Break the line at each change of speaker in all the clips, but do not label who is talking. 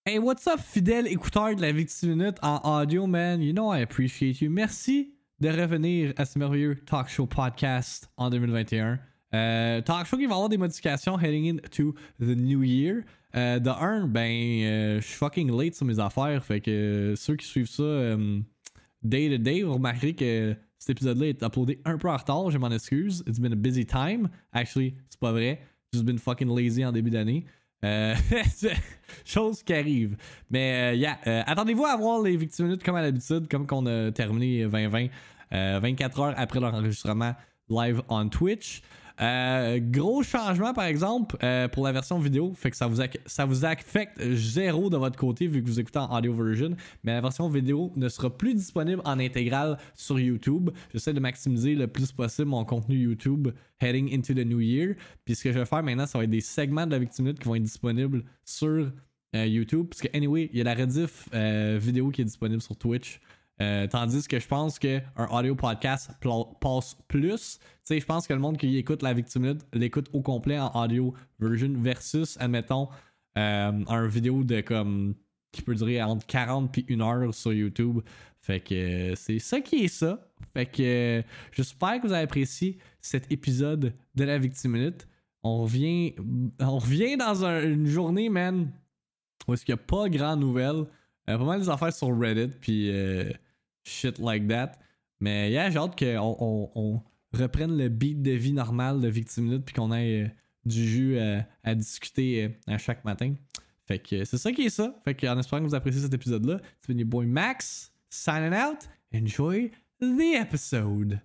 Hey, what's up, fidèle écouteur de la Victime Minute en audio, man? You know I appreciate you. Merci de revenir à ce merveilleux talk show podcast en 2021. Talk show qui va avoir des modifications heading into the new year. De un, je suis fucking late sur mes affaires. Fait que ceux qui suivent ça day to day, vous remarquerez que cet épisode-là est uploadé un peu en retard. Je m'en excuse. It's been a busy time. Actually, c'est pas vrai. Just been fucking lazy en début d'année. Chose qui arrive. Mais attendez-vous à voir les Victime Minutes comme à l'habitude, comme qu'on a terminé 2020, 24 heures après leur enregistrement live on Twitch. Gros changement par exemple pour la version vidéo, fait que ça vous affecte zéro de votre côté vu que vous écoutez en audio version, mais la version vidéo ne sera plus disponible en intégrale sur YouTube. J'essaie de maximiser le plus possible mon contenu YouTube heading into the new year, puis ce que je vais faire maintenant, ça va être des segments de la Victime Minute qui vont être disponibles sur YouTube, parce que anyway, il y a la rediff vidéo qui est disponible sur Twitch. Tandis que je pense qu'un audio podcast passe plus. Tu sais, je pense que le monde qui écoute la Victime Minute l'écoute au complet en audio version versus, admettons, un vidéo de comme qui peut durer entre 40 et 1 heure sur YouTube. Fait que c'est ça qui est ça. Fait que j'espère que vous avez apprécié cet épisode de la Victime Minute. On revient dans une journée, man, où est-ce qu'il n'y a pas grand nouvelles. Pas mal des affaires sur Reddit, puis shit like that. Mais yeah, j'ai hâte qu'on reprenne le beat de vie normal de Victime Minute, puis qu'on ait du jus à discuter à chaque matin. Fait que c'est ça qui est ça. Fait que en espérant que vous appréciez cet épisode-là, c'est been your boy Max, signing out. Enjoy the episode.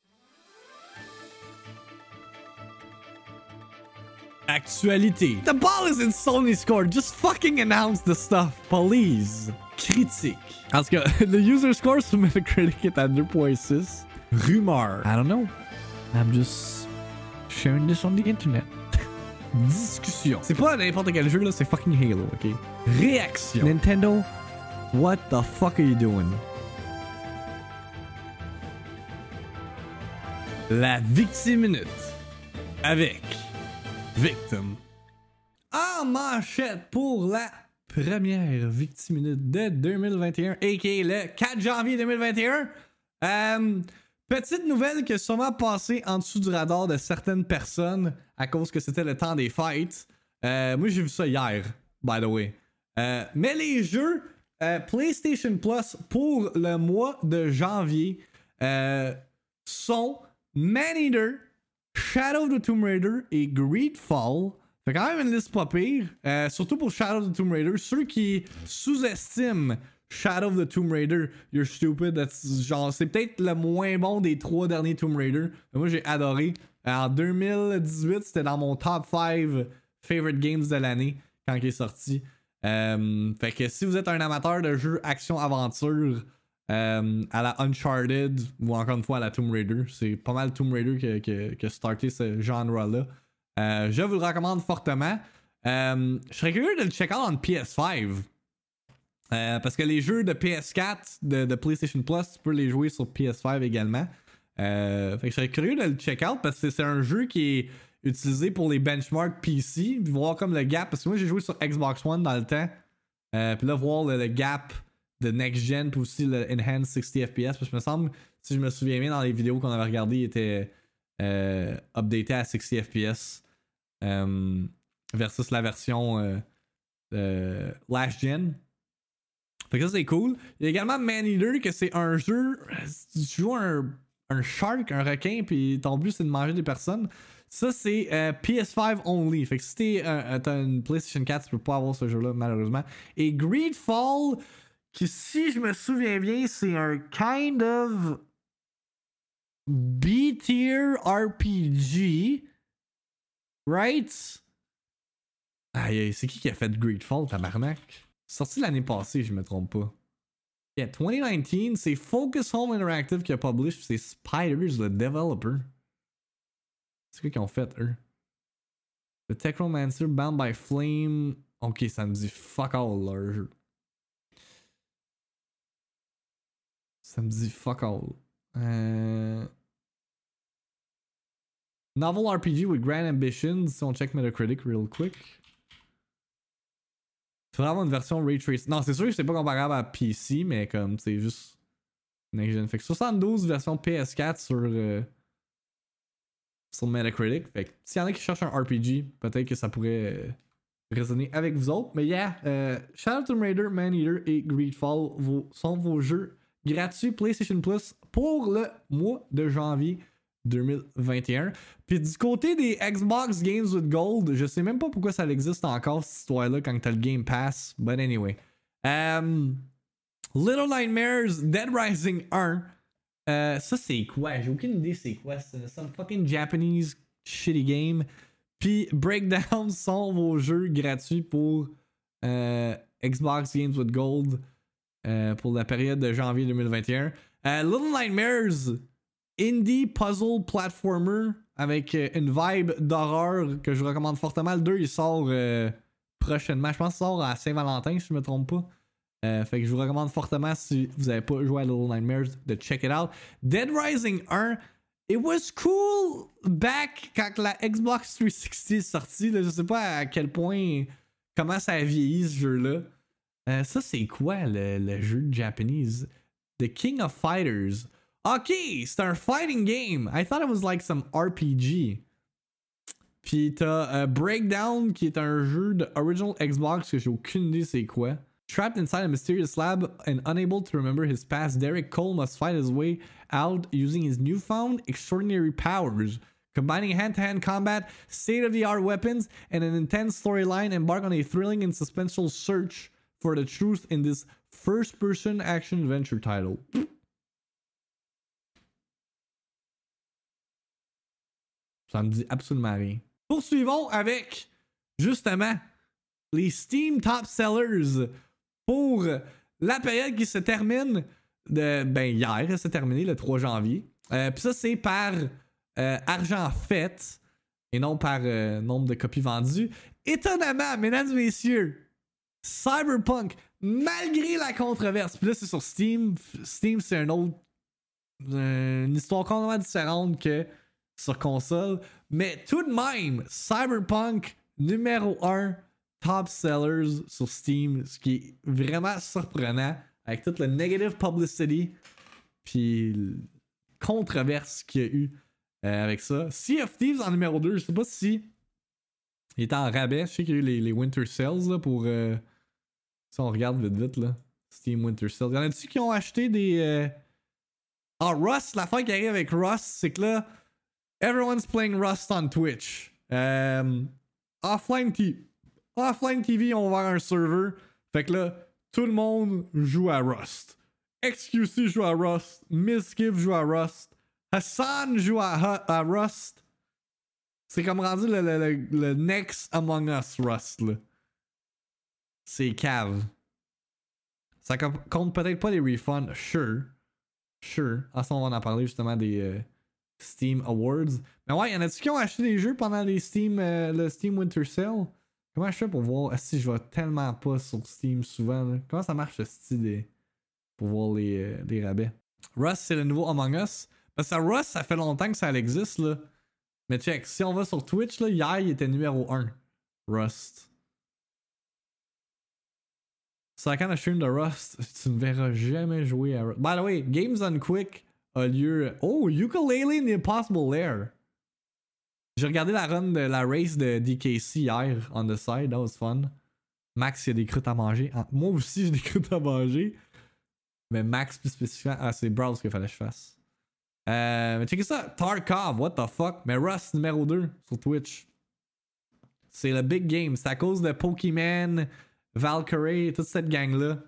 Actualité. The ball is in Sony's court. Just fucking announce the stuff, please. Critique. En tout cas, the user score sur Metacritic est à 2.6. Rumeur. I don't know. I'm just sharing this on the internet. Discussion. C'est pas n'importe quel jeu là, c'est fucking Halo, ok? Réaction. Nintendo, what the fuck are you doing? La Victime Minute. Avec Victim. En manchette pour la première Victime Minute de 2021, a.k.a. le 4 janvier 2021. Petite nouvelle qui a sûrement passé en dessous du radar de certaines personnes à cause que c'était le temps des fêtes. Moi, j'ai vu ça hier, by the way. Mais les jeux PlayStation Plus pour le mois de janvier sont Maneater, Shadow of the Tomb Raider et Greedfall. Fait quand même une liste pas pire. Surtout pour Shadow of the Tomb Raider. Ceux qui sous-estiment Shadow of the Tomb Raider, you're stupid. Genre, c'est peut-être le moins bon des 3 derniers Tomb Raider. Mais moi, j'ai adoré. En 2018, c'était dans mon top 5 favorite games de l'année quand il est sorti. Fait que si vous êtes un amateur de jeux action-aventure, à la Uncharted ou encore une fois à la Tomb Raider, c'est pas mal Tomb Raider qui a starté ce genre-là. Je vous le recommande fortement. Je serais curieux de le check out en PS5. Parce que les jeux de PS4 de PlayStation Plus, tu peux les jouer sur PS5 également. Fait que je serais curieux de le check out parce que c'est un jeu qui est utilisé pour les benchmarks PC. Voir comme le gap. Parce que moi j'ai joué sur Xbox One dans le temps. Puis là, voir le gap de next gen puis aussi le enhanced 60 FPS, parce que me semble, si je me souviens bien dans les vidéos qu'on avait regardées, il était updaté à 60 FPS versus la version last gen. Fait que ça c'est cool. Il y a également Maneater, que c'est un jeu, tu joues un shark, un requin, puis ton but c'est de manger des personnes. Ça c'est PS5 only. Fait que si t'as une PlayStation 4, tu peux pas avoir ce jeu-là malheureusement. Et Greedfall, qui, si je me souviens bien, c'est un kind of B-tier RPG. Right? Aïe, c'est qui a fait Greedfall, tabarnak? Sorti l'année passée, je me trompe pas. Yeah, 2019, c'est Focus Home Interactive qui a publish, c'est Spiders, le developer. C'est quoi qu'ils ont fait, eux? The Technomancer, Bound by Flame. Ok, ça me dit fuck all leur jeu. Ça me dit fuck all. Novel RPG with grand ambitions. Si on check Metacritic real quick. Faudrait avoir une version Ray Tracing. Non, c'est sûr que c'est pas comparable à PC, mais comme c'est juste next gen. Fait que 72 version PS4 sur Metacritic. Fait que s'il y en a qui cherchent un RPG, peut-être que ça pourrait résonner avec vous autres. Mais yeah, Shadow of the Tomb Raider, Maneater et Greedfall sont vos jeux gratuits PlayStation Plus pour le mois de janvier 2021. Puis du côté des Xbox Games with Gold, je sais même pas pourquoi ça existe encore cette histoire-là quand t'as le Game Pass. But anyway. Little Nightmares, Dead Rising 1. Ça c'est quoi? J'ai aucune idée c'est quoi. C'est some fucking Japanese shitty game. Puis Breakdown sont vos jeux gratuits pour Xbox Games with Gold pour la période de janvier 2021. Little Nightmares, indie puzzle platformer avec une vibe d'horreur que je vous recommande fortement. Le 2 il sort prochainement. Je pense qu'il sort à Saint-Valentin si je me trompe pas. Fait que je vous recommande fortement si vous n'avez pas joué à Little Nightmares de check it out. Dead Rising 1, it was cool back quand la Xbox 360 est sortie. Là, je sais pas à quel point, comment ça a vieilli ce jeu-là. Ça c'est quoi le jeu de Japanese? The King of Fighters. Ok, c'est un fighting game. I thought it was like some RPG. Puis t'as Breakdown qui est un jeu de original Xbox que j'ai aucune idée c'est quoi. Trapped inside a mysterious lab and unable to remember his past, Derek Cole must fight his way out using his newfound extraordinary powers. Combining hand-to-hand combat, state-of-the-art weapons, and an intense storyline, embark on a thrilling and suspenseful search for the truth in this first-person action-adventure title. Ça me dit absolument rien. Poursuivons avec, justement, les Steam Top Sellers pour la période qui se termine hier, elle s'est terminée le 3 janvier. Puis ça, c'est par argent fait et non par nombre de copies vendues. Étonnamment, mesdames et messieurs, Cyberpunk, malgré la controverse, puis là, c'est sur Steam. Steam, c'est une histoire complètement différente que sur console. Mais tout de même, Cyberpunk numéro 1 top sellers sur Steam, ce qui est vraiment surprenant avec toute la negative publicity puis controverse qu'il y a eu avec ça. Sea of Thieves en numéro 2, je sais pas si il était en rabais. Je sais qu'il y a eu les Winter Sales là, pour si on regarde vite là, Steam Winter Sales. Y en a-tu qui ont acheté des Rust, l'affaire qui arrive avec Rust, c'est que là everyone's playing Rust on Twitch. Offline TV ont ouvert un serveur. Fait que là, tout le monde joue à Rust. XQC joue à Rust. Miskiff joue à Rust. Hassan joue à Rust. C'est comme rendu le next Among Us Rust, là. C'est cave. Ça compte peut-être pas les refunds. Sure. Ensuite, on va en parler justement des Steam Awards. Mais ouais, y'en a-tu qui ont acheté des jeux pendant le Steam Winter Sale? Comment je fais pour voir si je vais tellement pas sur Steam souvent? Là? Comment ça marche ce style pour voir les rabais? Rust, c'est le nouveau Among Us. Parce que Rust, ça fait longtemps que ça existe. Là. Mais check, si on va sur Twitch, là, hier, il était numéro 1. Rust. C'est la kind of stream de Rust, tu ne verras jamais jouer à Rust. By the way, Games on Quick a lieu. Oh, Yooka-Laylee in the Impossible Lair. J'ai regardé la run de la race de DKC hier on the side, that was fun. Max, il y a des croûtes à manger. Moi aussi, j'ai des croûtes à manger. Mais Max, plus spécifiquement, c'est Browse qu'il fallait que je fasse. Mais checkez ça, Tarkov, what the fuck. Mais Rust numéro 2 sur Twitch. C'est le big game. C'est à cause de Pokémon, Valkyrie, toute cette gang-là.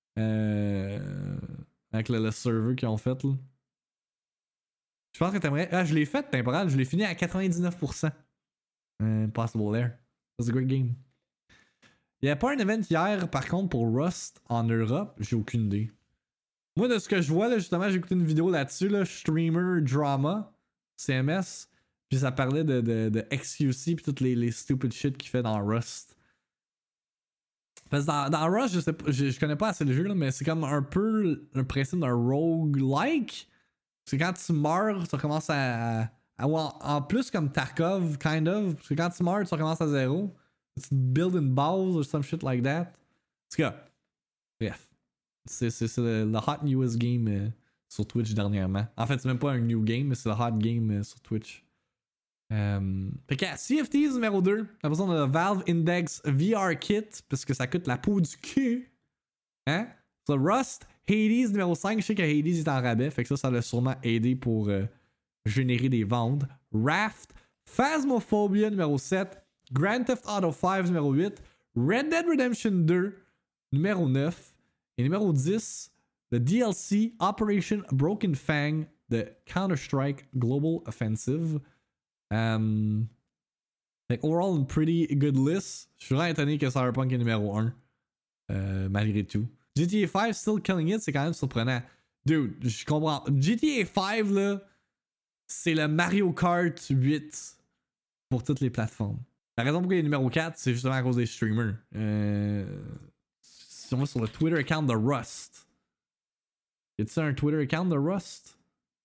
Avec le serveur qu'ils ont fait, là. Je pense que t'aimerais. Ah, je l'ai fait temporal, je l'ai fini à 99%. Possible Lair. That's a great game. Il n'y a pas un event hier, par contre, pour Rust en Europe. J'ai aucune idée. Moi, de ce que je vois, là, justement, j'ai écouté une vidéo là-dessus, là, Streamer Drama, CMS. Puis ça parlait de XQC, puis toutes les stupid shit qu'il fait dans Rust. Parce que dans Rust, je sais pas, je connais pas assez le jeu, là, mais c'est comme un peu le principe d'un roguelike. C'est quand tu meurs, tu recommences en plus comme Tarkov, kind of. Parce que quand tu meurs, tu recommences à zéro. Tu build une base or some shit like that. tout cas, bref. C'est le hot newest game sur Twitch dernièrement. En fait, c'est même pas un new game, mais c'est le hot game sur Twitch. Fait que CFTs numéro 2, la besoin de Valve Index VR Kit, parce que ça coûte la peau du cul. Hein? So, Rust, Hades numéro 5, je sais que Hades est en rabais, fait que ça l'a sûrement aidé pour générer des ventes. Raft, Phasmophobia numéro 7, Grand Theft Auto 5 numéro 8, Red Dead Redemption 2 numéro 9, et numéro 10, le DLC Operation Broken Fang de Counter-Strike Global Offensive. Fait overall, une pretty good list. Je suis vraiment étonné que Cyberpunk est numéro 1. Malgré tout. GTA 5 still killing it, c'est quand même surprenant. Dude, je comprends. GTA 5, là, c'est le Mario Kart 8 pour toutes les plateformes. La raison pourquoi il est numéro 4, c'est justement à cause des streamers. Si on va sur le Twitter account de Rust. Y a-t-il un Twitter account de Rust?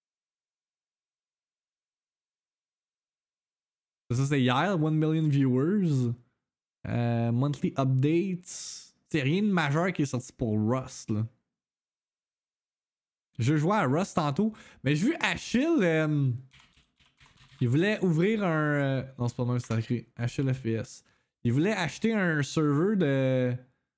Ça, c'est hier, 1 million viewers. Monthly updates. C'est rien de majeur qui est sorti pour Rust, là. Je jouais à Rust tantôt, mais j'ai vu Achille. Il voulait ouvrir un. Non, c'est pas mal, c'est écrit Achille FPS. Il voulait acheter un serveur de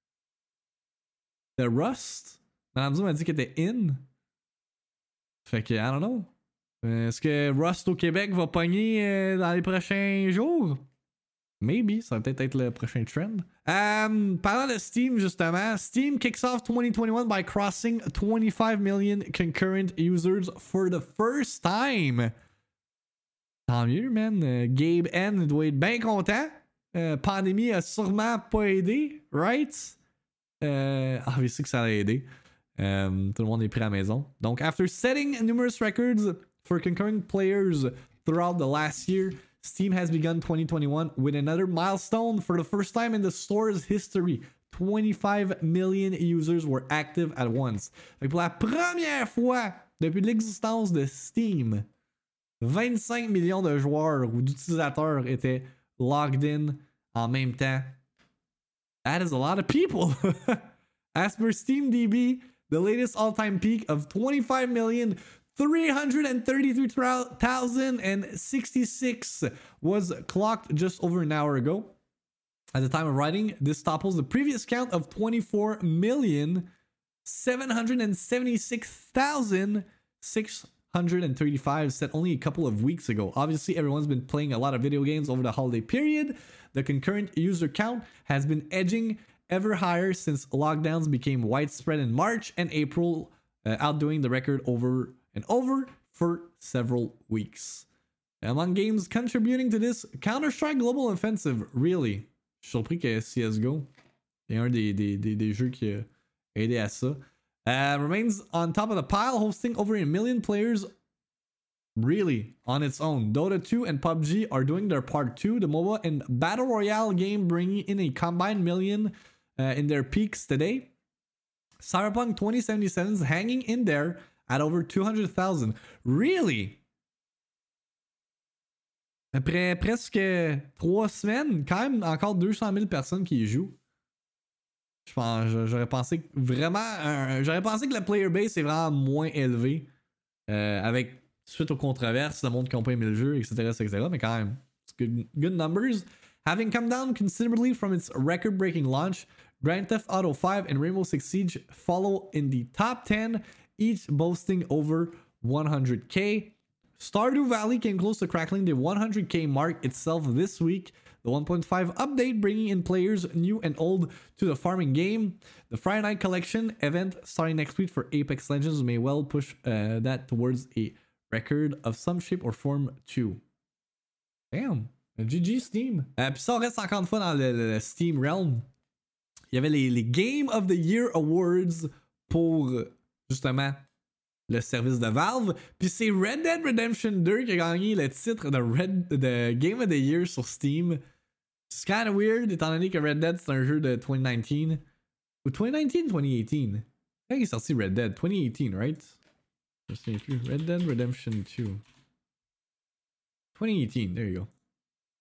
Rust. Madame Zou m'a dit qu'il était in. Fait que, I don't know. Est-ce que Rust au Québec va pogner dans les prochains jours? Maybe, ça va peut-être être le prochain trend. Parlant de Steam, justement, Steam kicks off 2021 by crossing 25 million concurrent users for the first time. Tant mieux, man. Gabe N doit être bien content. Pandémie a sûrement pas aidé, right? Obviously que ça a aidé. Tout le monde est pris à la maison. Donc, after setting numerous records for concurrent players throughout the last year, Steam has begun 2021 with another milestone for the first time in the store's history. 25 million users were active at once. Fait que pour la première fois depuis l'existence de Steam, 25 millions de joueurs ou d'utilisateurs étaient logged in en même temps. That is a lot of people. As per SteamDB, the latest all-time peak of 25,333,066 was clocked just over an hour ago. At the time of writing, this topples the previous count of 24,776,635 set only a couple of weeks ago. Obviously, everyone's been playing a lot of video games over the holiday period. The concurrent user count has been edging ever higher since lockdowns became widespread in March and April, outdoing the record over and over for several weeks. Among games contributing to this, Counter-Strike Global Offensive, really. Je suis surpris que CSGO est un des jeux qui a aidé à ça. Remains on top of the pile, hosting over 1 million players really on its own. Dota 2 and PUBG are doing their part too. The MOBA and Battle Royale game bringing in a combined million in their peaks today. Cyberpunk 2077 is hanging in there at over 200,000. Really? Après presque 3 semaines, quand même encore 200 000 personnes qui y jouent. Je pense, j'aurais pensé que vraiment, j'aurais pensé que la player base est vraiment moins élevée avec suite aux controverses, le monde qui n'a pas aimé le jeu, etc. Mais quand même, it's good numbers. Having come down considerably from its record-breaking launch, Grand Theft Auto 5 and Rainbow Six Siege follow in the top 10, each boasting over 100k. Stardew Valley came close to crackling the 100k mark itself this week. The 1.5 update bringing in players new and old to the farming game. The Friday Night Collection event starting next week for Apex Legends may well push that towards a record of some shape or form too. Damn. GG Steam. Puis ça, on reste encore une fois dans le Steam Realm. Il y avait les Game of the Year Awards pour justement le service de Valve. Puis c'est Red Dead Redemption 2 qui a gagné le titre de Game of the Year sur Steam. C'est kind of weird étant donné que Red Dead c'est un jeu de 2019. Ou 2019, 2018. Quand il est sorti Red Dead? 2018, right? Je me souviens plus. Red Dead Redemption 2. 2018, there you go.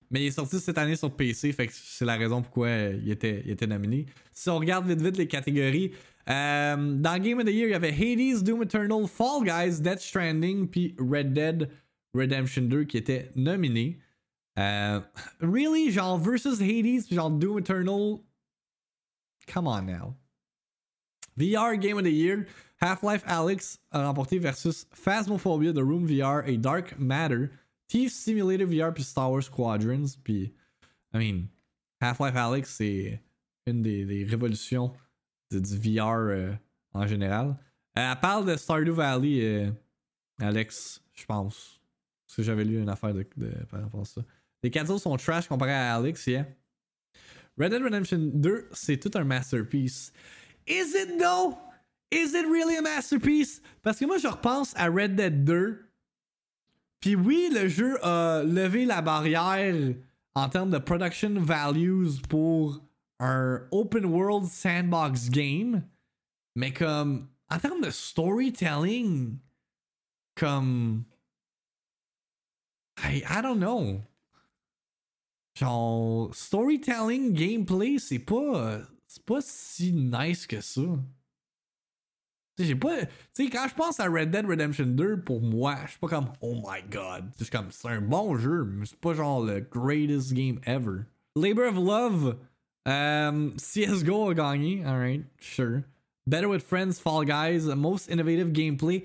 Mais il est sorti cette année sur PC, fait que c'est la raison pourquoi il était nominé. Si on regarde vite les catégories, dans Game of the Year, il y avait Hades, Doom Eternal, Fall Guys, Death Stranding, puis Red Dead Redemption 2 qui étaient nominés. Really? Genre versus Hades, puis genre Doom Eternal? Come on now. VR Game of the Year, Half-Life Alyx a remporté versus Phasmophobia, The Room VR et Dark Matter, Thief Simulator VR puis Star Wars Squadrons. Puis, I mean, Half-Life Alyx, c'est une des révolutions du VR en général. Elle parle de Stardew Valley, Alex, je pense. Parce que j'avais lu une affaire par rapport à ça. Les cadeaux sont trash comparé à Alyx, yeah. Red Dead Redemption 2, c'est tout un masterpiece. Is it though? Is it really a masterpiece? Parce que moi, je repense à Red Dead 2. Puis oui, le jeu a levé la barrière en termes de production values pour un open world sandbox game. Mais comme, en termes de storytelling, comme... I don't know. Genre, storytelling, gameplay, c'est pas si nice que ça. J'ai pas. Tu sais, quand je pense à Red Dead Redemption 2, pour moi, je suis pas comme oh my god. C'est comme c'est un bon jeu, mais c'est pas genre le greatest game ever. Labor of Love, CSGO a gagné, alright, sure. Better with Friends, Fall Guys, Most Innovative Gameplay.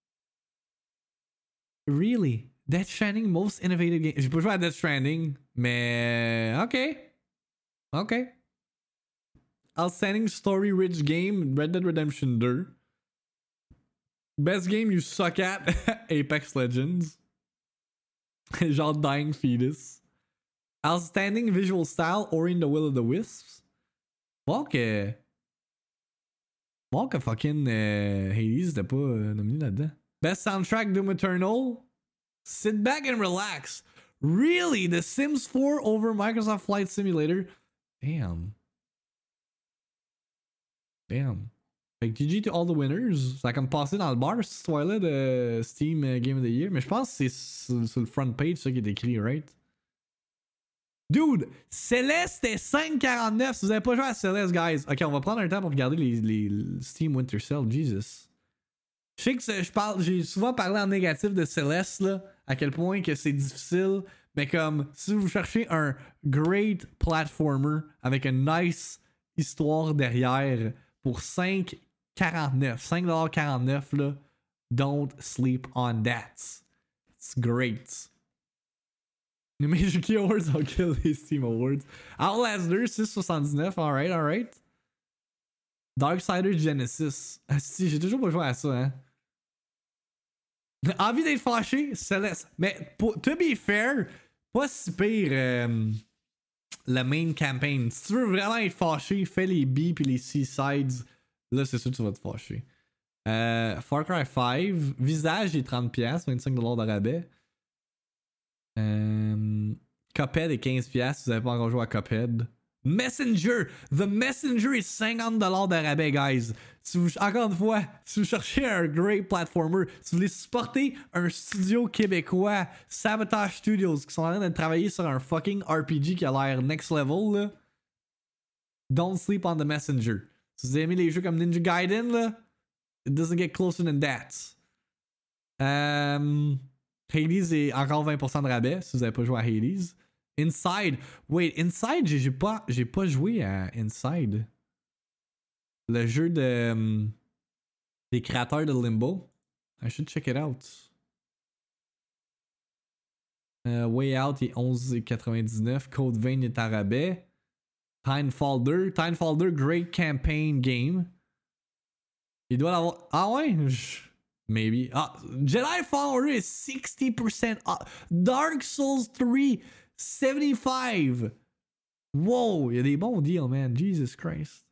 Really? Death Stranding, Most Innovative Game. J'ai pas joué à Death Stranding, mais ok. Outstanding Story Rich Game, Red Dead Redemption 2. Best game you suck at, Apex Legends. Genre Dying Fetus. Outstanding Visual Style, Ori and the Will of the Wisps. Bon que fucking Hades n'était pas nominé là-dedans. Best Soundtrack, Doom Eternal. Sit back and relax. Really? The Sims 4 over Microsoft Flight Simulator? Damn. Fait que GG to all the winners. Ça a comme passé dans le bar cette histoire-là de Steam Game of the Year. Mais je pense que c'est sur le front page ça qui est écrit, right? Dude, Celeste est 5,49. Si vous avez pas joué à Celeste, guys. Ok, on va prendre un temps pour regarder les Steam Winter Sale. Jesus. Je sais que j'ai souvent parlé en négatif de Celeste, là, à quel point que c'est difficile. Mais comme, si vous cherchez un great platformer avec une nice histoire derrière pour 5,49 là, don't sleep on that. It's great. Les Major Key Awards ont kill les Steam Awards. Outlast 2, 6,79. Alright. Darksiders Genesis. Ah si, j'ai toujours pas joué à ça, hein. Envie d'être fâché, Céleste. Mais to be fair, pas si pire la main campaign. Si tu veux vraiment être fâché, fais les B puis les C sides. Là, c'est sûr que tu vas te fâcher. Far Cry 5. Visage est 30$, 25$ de rabais. Cuphead est 15$ si vous n'avez pas encore joué à Cuphead. Messenger! The Messenger est 50$ de rabais, guys. Encore une fois, si vous cherchez un great platformer, si vous voulez supporter un studio québécois, Sabotage Studios, qui sont en train de travailler sur un fucking RPG qui a l'air next level, là, don't sleep on The Messenger. Si vous aimez les jeux comme Ninja Gaiden, là, it doesn't get closer than that. Hades est encore 20% de rabais si vous n'avez pas joué à Hades. Inside. Wait, Inside, j'ai pas joué à Inside. Le jeu des créateurs de Limbo. I should check it out. Way Out est 11,99. Code Vein est à rabais. Timefall 2, great campaign game. Il doit l'avoir. Ah ouais? Maybe. Ah, Jedi Fallen Order est 60% off. Dark Souls 3, 75. Wow, il y a des bons deals, man. Jesus Christ.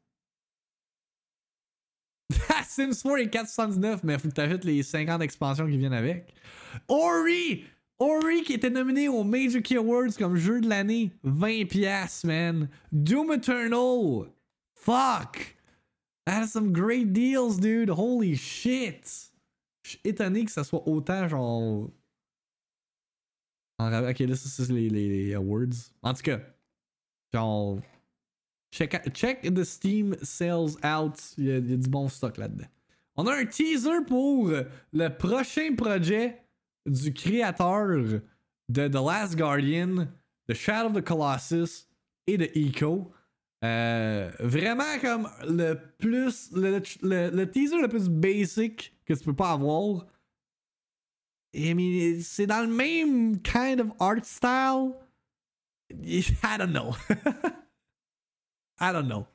Sims 4 est 4,79, mais faut que t'ajoutes les 50 expansions qui viennent avec. Ori qui était nominé aux Major Key Awards comme jeu de l'année. 20$, man. Doom Eternal. Fuck. That's some great deals, dude. Holy shit. Je suis étonné que ça soit autant genre Ok, là, ça, c'est les awards. En tout cas, genre, check the Steam sales out. Il y a du bon stock là-dedans. On a un teaser pour le prochain projet du créateur de The Last Guardian, de Shadow of the Colossus et de Eco. Vraiment comme le teaser le plus basic que tu peux pas avoir. I mean, c'est dans le même kind of art style. I don't know. I don't know.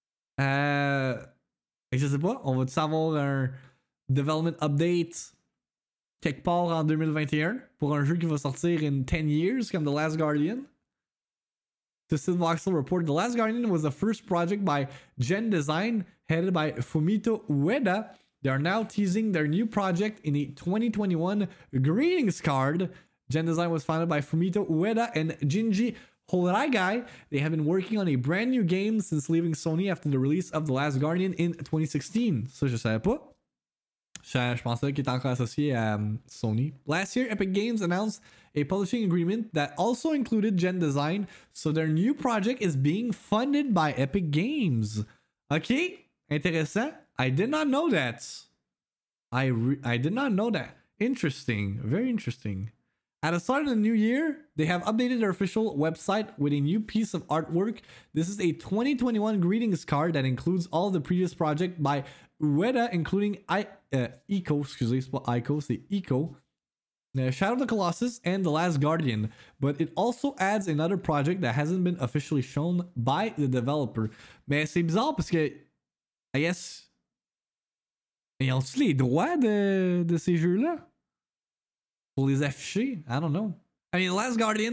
Je sais pas, on va-tu avoir un development update quelque part en 2021 pour un jeu qui va sortir in 10 years comme The Last Guardian? Twisted Voxel reported The Last Guardian was the first project by Gen Design headed by Fumito Ueda. They are now teasing their new project in a 2021 greetings card. Gen Design was founded by Fumito Ueda and Jinji Horagai. They have been working on a brand new game since leaving Sony after the release of The Last Guardian in 2016. Ça, je savais pas. Je pensais qu'il était encore associé à Sony. Last year, Epic Games announced a publishing agreement that also included Gen Design, so their new project is being funded by Epic Games. Okay, intéressant. I did not know that. I did not know that. Interesting. Very interesting. At the start of the new year, they have updated their official website with a new piece of artwork. This is a 2021 greetings card that includes all the previous projects by Ueda, including Eco, excusez, c'est pas Ico, c'est Eco, Shadow of the Colossus, and The Last Guardian. But it also adds another project that hasn't been officially shown by the developer. Mais c'est bizarre parce que, I guess, ils ont-ils les droits de ces jeux-là? Pour les afficher? I don't know. I mean, The Last Guardian,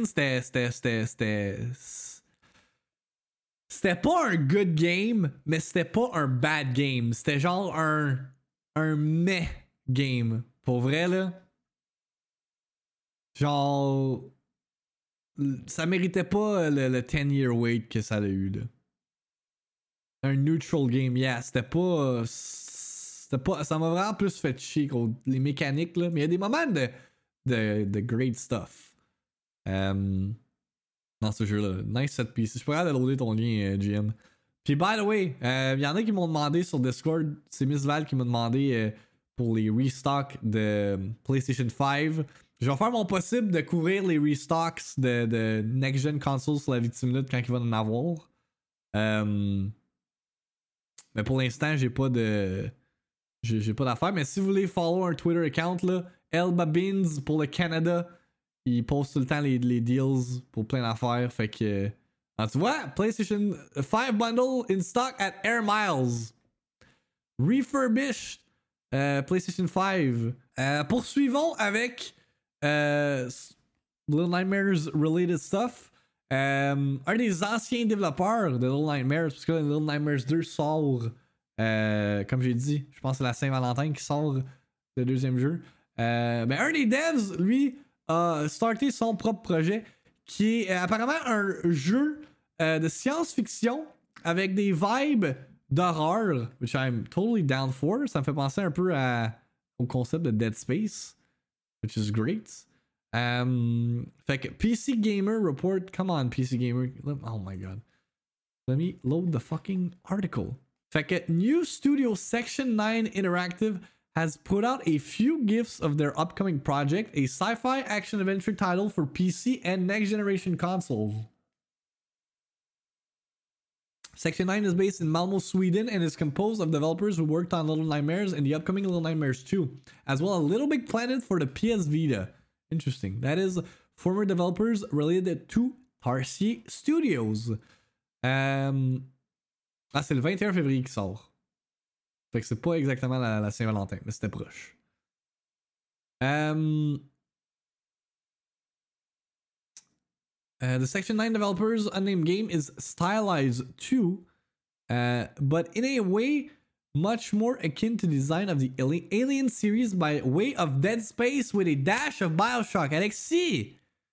c'était pas un good game, mais c'était pas un bad game. C'était genre un meh game. Pour vrai, là. Genre, ça méritait pas le 10-year wait que ça a eu, là. Un neutral game, yeah. C'était pas. Ça m'a vraiment plus fait chier que les mécaniques, là. Mais il y a des moments de great stuff. Dans ce jeu-là. Nice set piece. Je pourrais aller loader ton lien, GM. Puis, by the way, il y en a qui m'ont demandé sur Discord. C'est Miss Val qui m'a demandé pour les restocks de PlayStation 5. Je vais faire mon possible de couvrir les restocks de next-gen consoles sur la Victime Minute quand il va en avoir. Mais pour l'instant, j'ai pas d'affaires. Mais si vous voulez follow un Twitter account, là, Elba Beans pour le Canada. Il poste tout le temps les deals pour plein d'affaires. Fait que. Tu vois, PlayStation 5 bundle in stock at Air Miles. Refurbished PlayStation 5. Poursuivons avec Little Nightmares related stuff. Un des anciens développeurs de Little Nightmares, parce que Little Nightmares 2 sort, comme j'ai dit, je pense que c'est la Saint-Valentin qui sort le deuxième jeu. Ben un des devs, lui, a starté son propre projet qui est apparemment un jeu de science-fiction avec des vibes d'horreur, which I'm totally down for. Ça me fait penser un peu au concept de Dead Space, which is great. Fait que PC Gamer report, come on PC Gamer, oh my god. Let me load the fucking article. Fait que new studio Section 9 Interactive has put out a few gifs of their upcoming project, a sci-fi action adventure title for PC and next generation consoles. Section 9 is based in Malmö, Sweden, and is composed of developers who worked on Little Nightmares and the upcoming Little Nightmares 2, as well as Little Big Planet for the PS Vita. Interesting. That is former developers related to Tarsier Studios. C'est le 21 février qui sort. Fait que c'est pas exactement la Saint-Valentin, mais c'était proche. The Section 9 developers' unnamed game is stylized too, but in a way much more akin to the design of the Alien series by way of Dead Space with a dash of Bioshock. Alexis!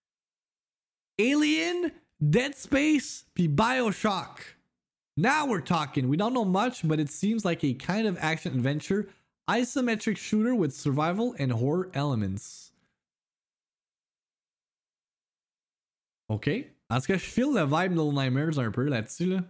Alien, Dead Space, puis Bioshock. Now we're talking. We don't know much, but it seems like a kind of action-adventure, isometric shooter with survival and horror elements. Ok. En tout cas, je feel le vibe de Little Nightmares un peu là-dessus, là.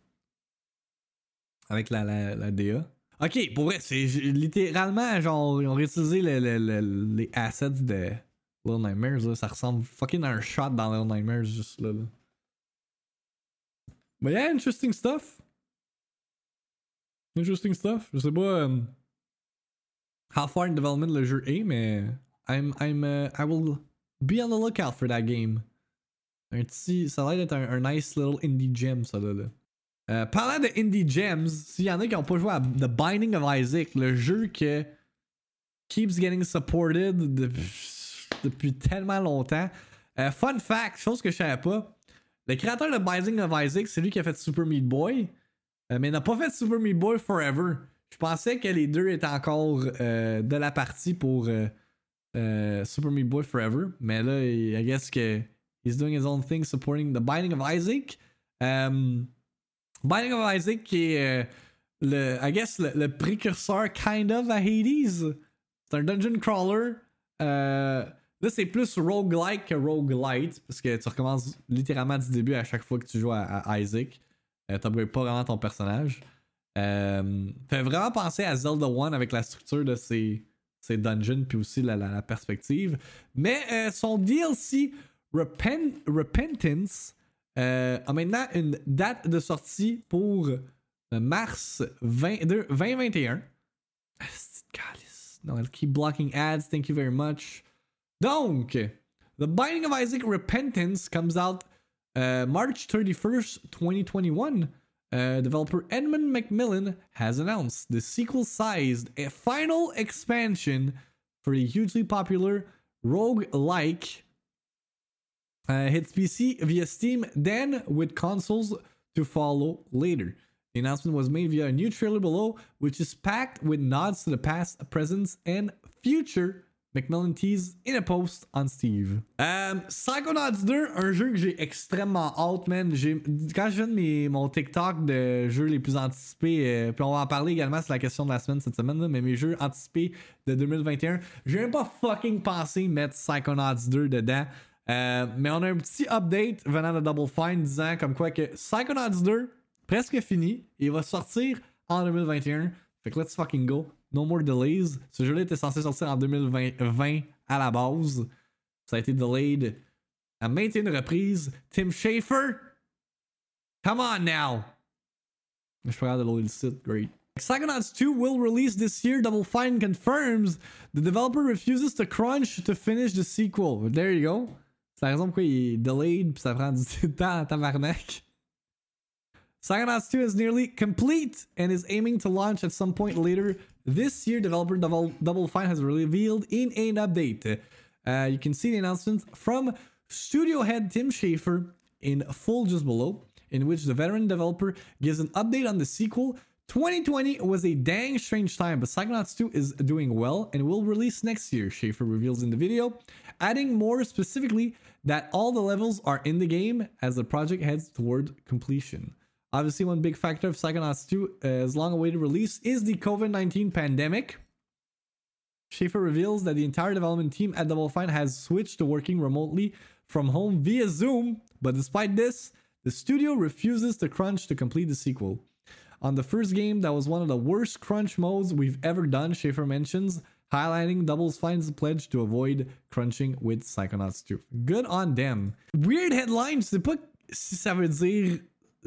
Avec la DA. Ok, pour vrai, c'est littéralement, genre, ils ont réutilisé les assets de Little Nightmares, là. Ça ressemble fucking à un shot dans Little Nightmares, juste là. But yeah, interesting stuff. Interesting stuff. Je sais pas how far in development le jeu est, mais I will be on the lookout for that game. Un petit, ça a l'air d'être un nice little indie gem, ça là. Parlant de indie gems, s'il y en a qui n'ont pas joué à The Binding of Isaac, le jeu que keeps getting supported depuis tellement longtemps. Fun fact, chose que je savais pas, le créateur de Binding of Isaac, c'est lui qui a fait Super Meat Boy, mais il n'a pas fait Super Meat Boy Forever. Je pensais que les deux étaient encore de la partie pour Super Meat Boy Forever, mais là, I guess que he's doing his own thing supporting The Binding of Isaac. Binding of Isaac qui est le précurseur kind of à Hades. C'est un dungeon crawler. Là, c'est plus roguelike que roguelite parce que tu recommences littéralement du début à chaque fois que tu joues à Isaac. T'upgrades pas vraiment ton personnage. Fait vraiment penser à Zelda 1 avec la structure de ses dungeons puis aussi la perspective. Mais son DLC Repentance a maintenant une date de sortie pour mars 2021. No, I'll keep blocking ads. Thank you very much. Donc, The Binding of Isaac Repentance comes out March 31st, 2021. Developer Edmund McMillan has announced the sequel-sized final expansion for the hugely popular roguelike. Hits PC via Steam, then with consoles to follow later. The announcement was made via a new trailer below, which is packed with nods to the past, present, and future. McMillan teased in a post on Steve. Psychonauts 2, un jeu que j'ai extrêmement hâte, man. Quand je viens de mon TikTok de jeux les plus anticipés, puis on va en parler également, c'est la question de la semaine cette semaine, là, mais mes jeux anticipés de 2021, j'ai même pas fucking pensé mettre Psychonauts 2 dedans. Mais on a un petit update venant de Double Fine disant comme quoi que Psychonauts 2, presque fini, il va sortir en 2021. Fait que let's fucking go. No more delays. Ce jeu-là était censé sortir en 2020 à la base. Ça a été delayed à maintes reprises. Tim Schafer, come on now. Je suis pas capable de loader le site. Great. Psychonauts 2 will release this year. Double Fine confirms the developer refuses to crunch to finish the sequel. There you go. C'est la raison pourquoi il est delayed pis ça prend du temps à tabarnak. Psychonauts 2 is nearly complete and is aiming to launch at some point later this year. Developer Double Fine has revealed in an update. You can see the announcement from studio head Tim Schafer in full just below, in which the veteran developer gives an update on the sequel. 2020 was a dang strange time, but Psychonauts 2 is doing well and will release next year, Schafer reveals in the video, adding more specifically that all the levels are in the game as the project heads toward completion. Obviously, one big factor of Psychonauts 2's long-awaited release is the COVID-19 pandemic. Schafer reveals that the entire development team at Double Fine has switched to working remotely from home via Zoom, but despite this, the studio refuses to crunch to complete the sequel. On the first game, that was one of the worst crunch modes we've ever done, Schafer mentions, highlighting Double Fine's pledge to avoid crunching with Psychonauts 2. Good on them. Weird headline, je sais pas si ça veut dire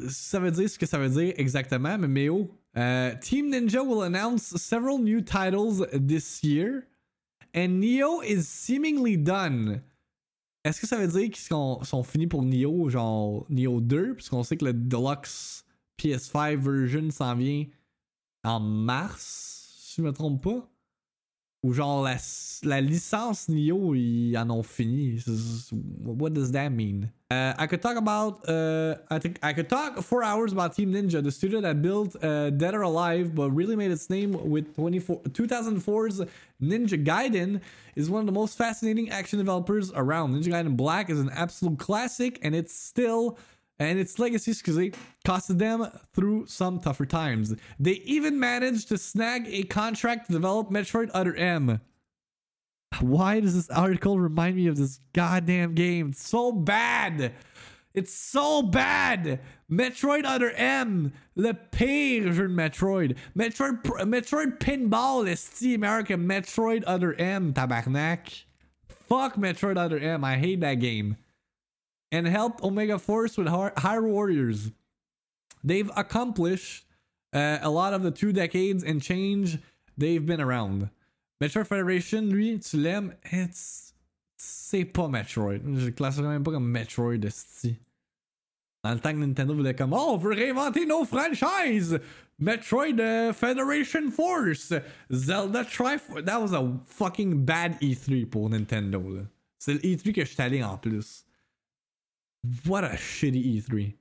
ce que ça veut dire exactement, mais Méo. Team Ninja will announce several new titles this year, and Nioh is seemingly done. Est-ce que ça veut dire qu'ils sont finis pour Nioh, genre Nioh 2, puisqu'on sait que le Deluxe PS5 version s'en vient en mars, si je me trompe pas? Ou genre la licence Nioh, ils en ont fini. What does that mean? I could talk about I could talk 4 hours about Team Ninja, the studio that built Dead or Alive, but really made its name with 2004's Ninja Gaiden, is one of the most fascinating action developers around. Ninja Gaiden Black is an absolute classic, and its legacy, costed them through some tougher times. They even managed to snag a contract to develop Metroid Other M. Why does this article remind me of this goddamn game? It's so bad. It's so bad. Metroid Other M, le pire jeu de Metroid. Metroid Pinball, esti, meilleur que Metroid Other M, tabarnak. Fuck Metroid Other M. I hate that game. And helped Omega Force with Hyrule Warriors. They've accomplished a lot of the 2 decades and change they've been around. Metroid Federation, lui, tu l'aimes, c'est pas Metroid. Je le classerais même pas comme Metroid, esti. Dans le temps que Nintendo voulait comme, oh, on veut réinventer nos franchises! Metroid Federation Force! Zelda Triforce. That was a fucking bad E3 pour Nintendo, là. C'est le E3 que je suis allé en plus. What a shitty E3.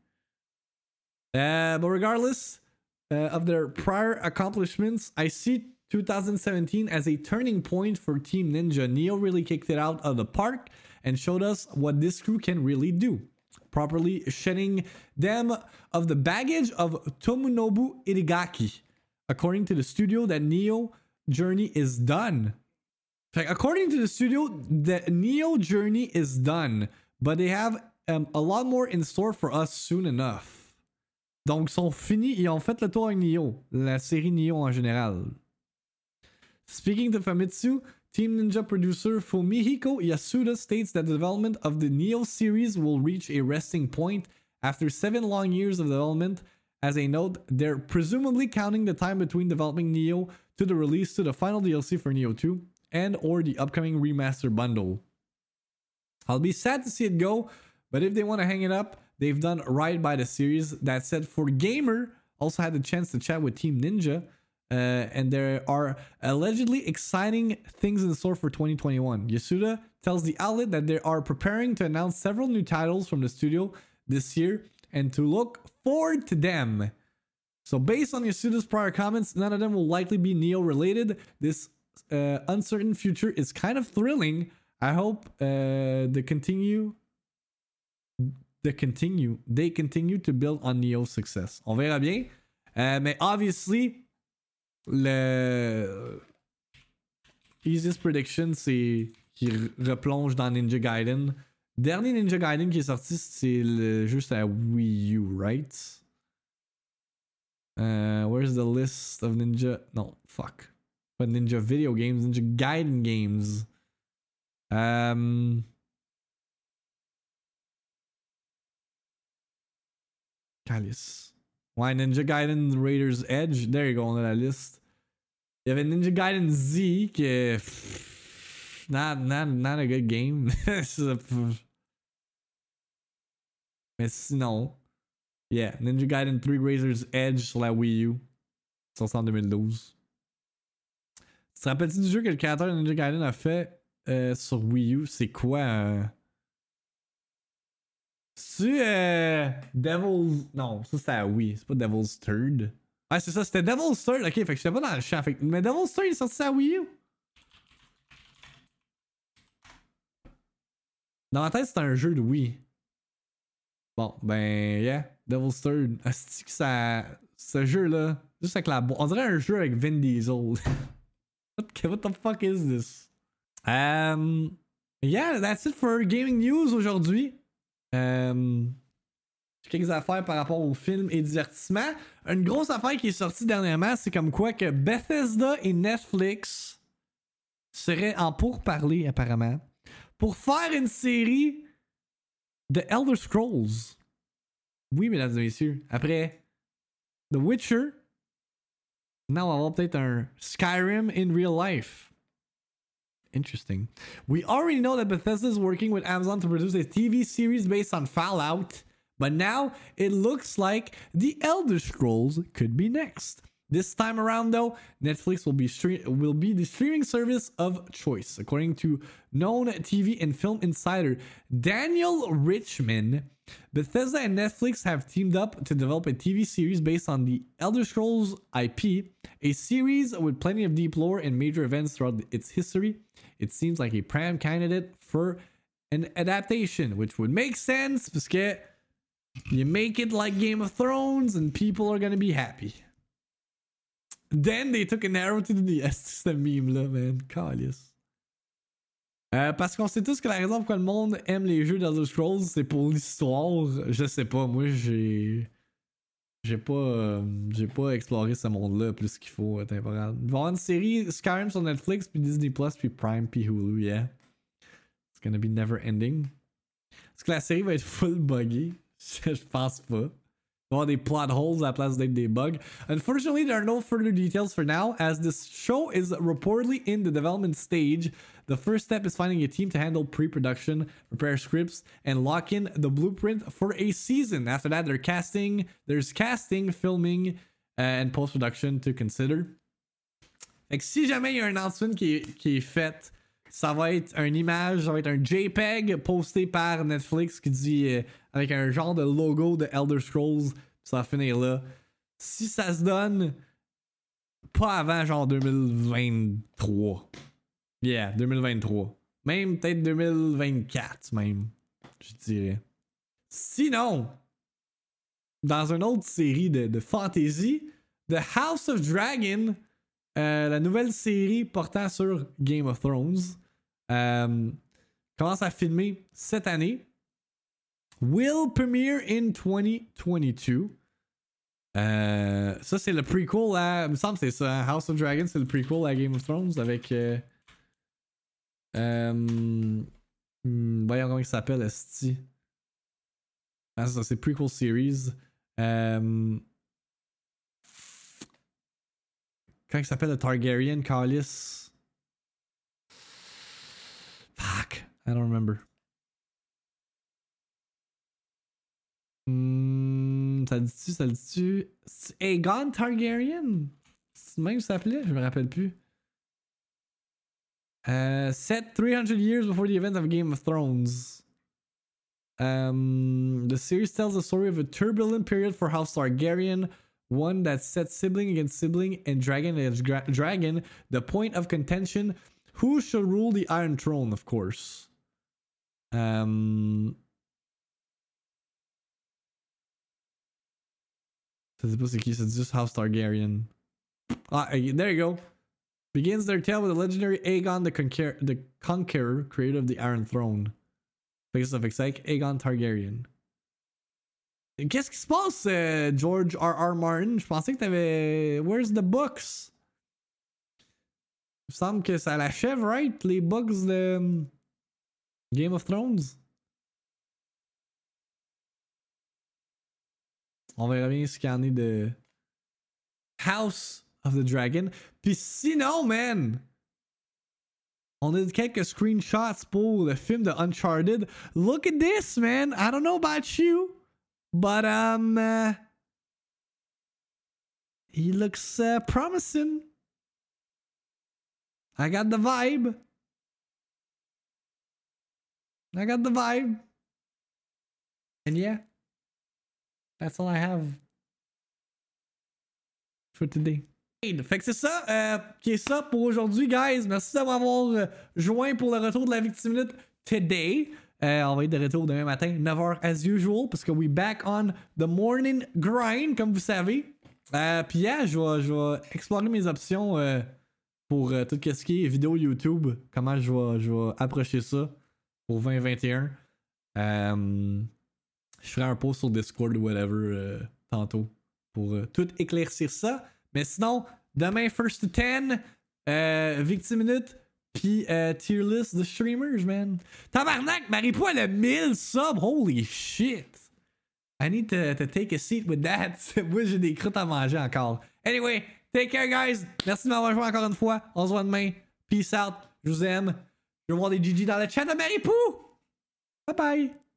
But regardless of their prior accomplishments, I see 2017 as a turning point for Team Ninja. Nioh really kicked it out of the park and showed us what this crew can really do, properly shedding them of the baggage of Tomonobu Itagaki. According to the studio, that Nioh journey is done. According to the studio, the Nioh journey is done, but they have a lot more in store for us soon enough. Donc, ils sont finis, ils ont fait le tour avec Nioh, la série Nioh en général. Speaking to Famitsu, Team Ninja producer Fumihiko Yasuda states that the development of the Nioh series will reach a resting point after 7 long years of development. As a note, they're presumably counting the time between developing Nioh to the release to the final DLC for Nioh 2 and or the upcoming remaster bundle. I'll be sad to see it go, but if they want to hang it up, they've done right by the series. That said, For Gamer also had the chance to chat with Team Ninja. And there are allegedly exciting things in store for 2021. Yasuda tells the outlet that they are preparing to announce several new titles from the studio this year and to look forward to them. So based on Yasuda's prior comments, none of them will likely be Nioh related. This uncertain future is kind of thrilling. I hope they continue to build on Nioh's success. On verra bien. Mais obviously, le easiest prediction, c'est qu'il replonge dans Ninja Gaiden. Dernier Ninja Gaiden qui est sorti, c'est juste à Wii U, right? Where's the list of Ninja? No, fuck. But Ninja video games, Ninja Gaiden games. Calice. Ouais, Ninja Gaiden Raiders Edge. There you go, on a la liste. Il y avait Ninja Gaiden Z qui est. Not a good game. Mais sinon. Yeah, Ninja Gaiden 3 Raiders Edge sur la Wii U. Sorti en 2012. Tu te rappelles-tu du jeu que le créateur de Ninja Gaiden a fait sur Wii U? C'est quoi? C'est Devil's. Non, ça c'était à Wii. C'est pas Devil's Third. Ah, c'est ça, c'était Devil's Third. Ok, fait que j'étais pas dans le champ. Mais Devil's Third il est sorti à Wii U. Dans ma tête, c'était un jeu de Wii. Bon, ben, yeah. Devil's Third. Asti que ça. Ce jeu-là. Juste avec la. On dirait un jeu avec Vin Diesel. What the fuck is this? Yeah, that's it for gaming news aujourd'hui. Quelques affaires par rapport au film et divertissement. Une grosse affaire qui est sortie dernièrement, c'est comme quoi que Bethesda et Netflix seraient en pourparlers apparemment pour faire une série de Elder Scrolls. Oui, mesdames et messieurs. Après The Witcher, now on va avoir peut-être un Skyrim in real life. Interesting. We already know that Bethesda is working with Amazon to produce a TV series based on Fallout, but now it looks like The Elder Scrolls could be next. This time around, though, Netflix will be the streaming service of choice, according to known TV and film insider Daniel Richman. Bethesda and Netflix have teamed up to develop a TV series based on the Elder Scrolls IP, a series with plenty of deep lore and major events throughout its history. It seems like a prime candidate for an adaptation, which would make sense because you make it like Game of Thrones and people are gonna be happy. Then they took an arrow to the nest. The meme, man. Calius. Parce qu'on sait tous que la raison pourquoi le monde aime les jeux d'Elder Scrolls, c'est pour l'histoire. Je sais pas, moi j'ai pas exploré ce monde-là plus qu'il faut temporairement. Il va y avoir une série Skyrim sur Netflix, puis Disney+, puis Prime, puis Hulu, yeah. It's gonna be never ending. Est-ce que la série va être full buggy? Je pense pas. Il va y avoir des plot holes à la place d'être des bugs. Unfortunately, there are no further details for now, as this show is reportedly in the development stage. The first step is finding a team to handle pre-production, prepare scripts, and lock in the blueprint for a season. After that, there's casting, filming, and post-production to consider. Fait que si jamais il y a un announcement qui est fait, ça va être une image, ça va être un JPEG posté par Netflix qui dit avec un genre de logo de Elder Scrolls, ça va finir là. Si ça se donne, pas avant genre 2023. Yeah, 2023. Même peut-être 2024 même, je dirais. Sinon, dans une autre série de fantasy, The House of Dragon, la nouvelle série portant sur Game of Thrones, commence à filmer cette année. Will premiere in 2022. Ça, c'est le prequel à. Il me semble que c'est ça. House of Dragon, c'est le prequel à Game of Thrones avec. Voyons comment il s'appelle, Esti. Ah, c'est ça, c'est prequel series. Comment il s'appelle le Targaryen, Carlis? Fuck, I don't remember. Ça le dit-tu? Aegon Targaryen? C'est même ça s'appelait? Je me rappelle plus. Set 300 years before the events of Game of Thrones. The series tells the story of a turbulent period for House Targaryen, one that sets sibling against sibling and dragon against dragon, the point of contention, who shall rule the Iron Throne, of course. Ça dit pas c'est qui, c'est juste House Targaryen. Ah, there you go. Begins their tale with the legendary Aegon the Conqueror, creator of the Iron Throne. Fait que ça fait que c'est Aegon Targaryen. Qu'est-ce qui se passe, George R.R. Martin? Je pensais que t'avais... Where's the books? Il me semble que ça l'achève, right? Les books de Game of Thrones. On verra bien ce qu'il y en est de House of the Dragon. Puis sinon, man, on a quelques screenshots pour le film de Uncharted. Look at this, man. I don't know about you, but he looks promising. I got the vibe. And yeah, that's all I have for today. Fait que c'est ça qui est ça pour aujourd'hui, guys. Merci d'avoir joint pour le retour de la Victime Minute today. On va être de retour demain matin, 9h as usual, parce que we back on the morning grind, comme vous savez. Puis yeah, je vais explorer mes options pour tout ce qui est vidéo YouTube. Comment je vais approcher ça pour 2021. Je ferai un post sur Discord ou whatever tantôt pour tout éclaircir ça. Mais sinon, demain, first to 10, Victime Minute, puis tier list de streamers, man. Tabarnak, Marie-Pou, elle a 1000 subs. Holy shit. I need to take a seat with that. Moi, j'ai des croûtes à manger encore. Anyway, take care, guys. Merci de m'avoir joué encore une fois. On se voit demain. Peace out. Je vous aime. Je vais voir des GG dans le chat de Marie-Pou. Bye bye.